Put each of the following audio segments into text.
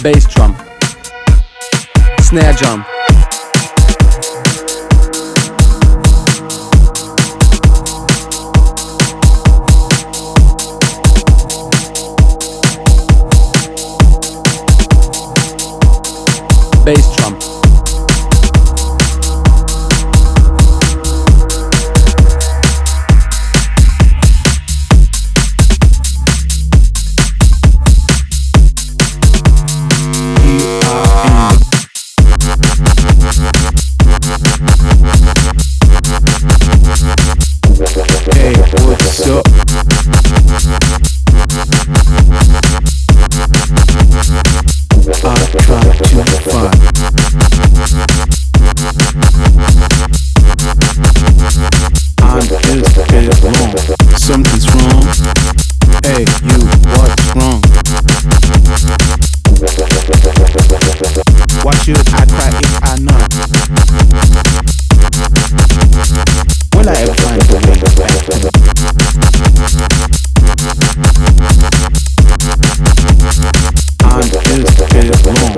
bass drum, snare drum, bass drum, something's wrong. Hey, you, what's wrong? Why should I cry if I not? Will I ever find a way back to the I'm just feel wrong.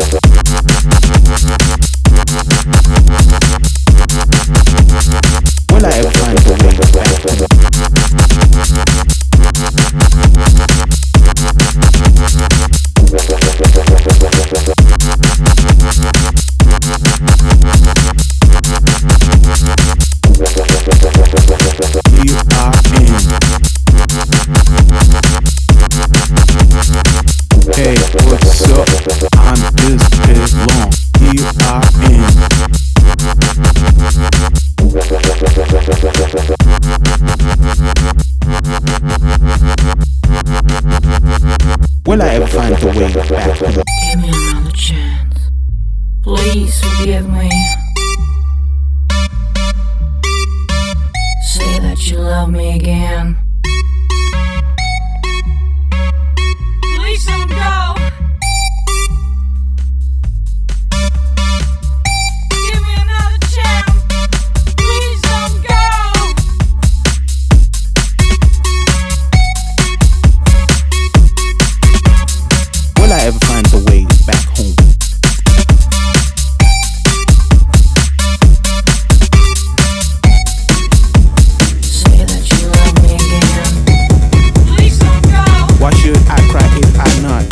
Will I ever find a way back to the Hey, what's up? I'm just as long. E-R-N. Will I ever find the way back to the Give me another chance. Please forgive me. Say that you love me again. Please don't go. Give me another chance. Please don't go. Will I ever find the way back home? Say that you love me again. Please don't go. Why should I cry if I not?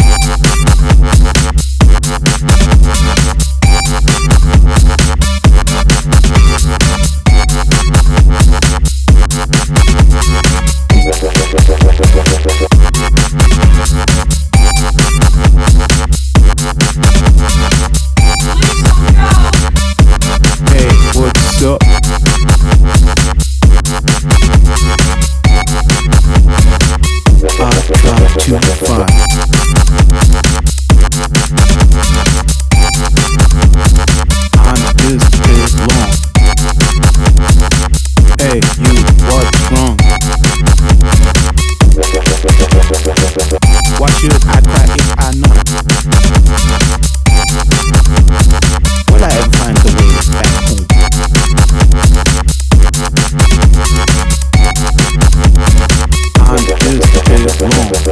Hey, what's up? I've got to find. I'm just as long. Hey, you, what's wrong? Why should I cry if I not? Will I ever find the way back home? I'm just as long.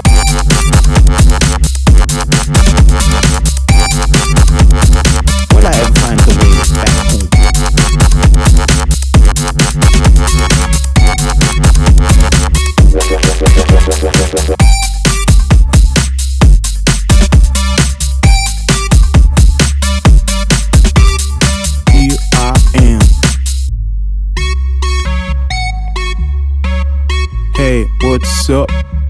Will I ever find the way back home? Here I am. Hey, what's up?